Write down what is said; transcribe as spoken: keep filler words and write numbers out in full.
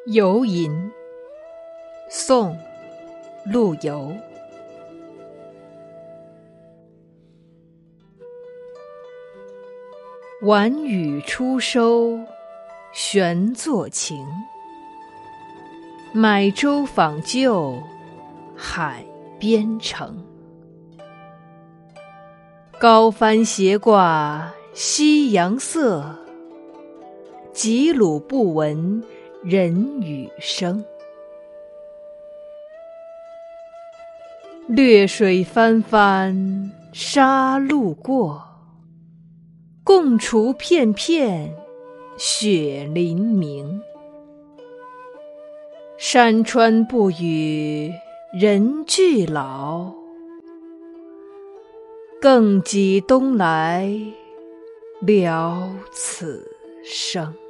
游吟，宋·陆游。晚雨初收悬作情，买舟访旧海边城。高帆斜挂夕阳色，急虏不闻人语声。掠水翻翻沙路过，共除片片雪凌明。山川不与人俱老，更几东来聊此生。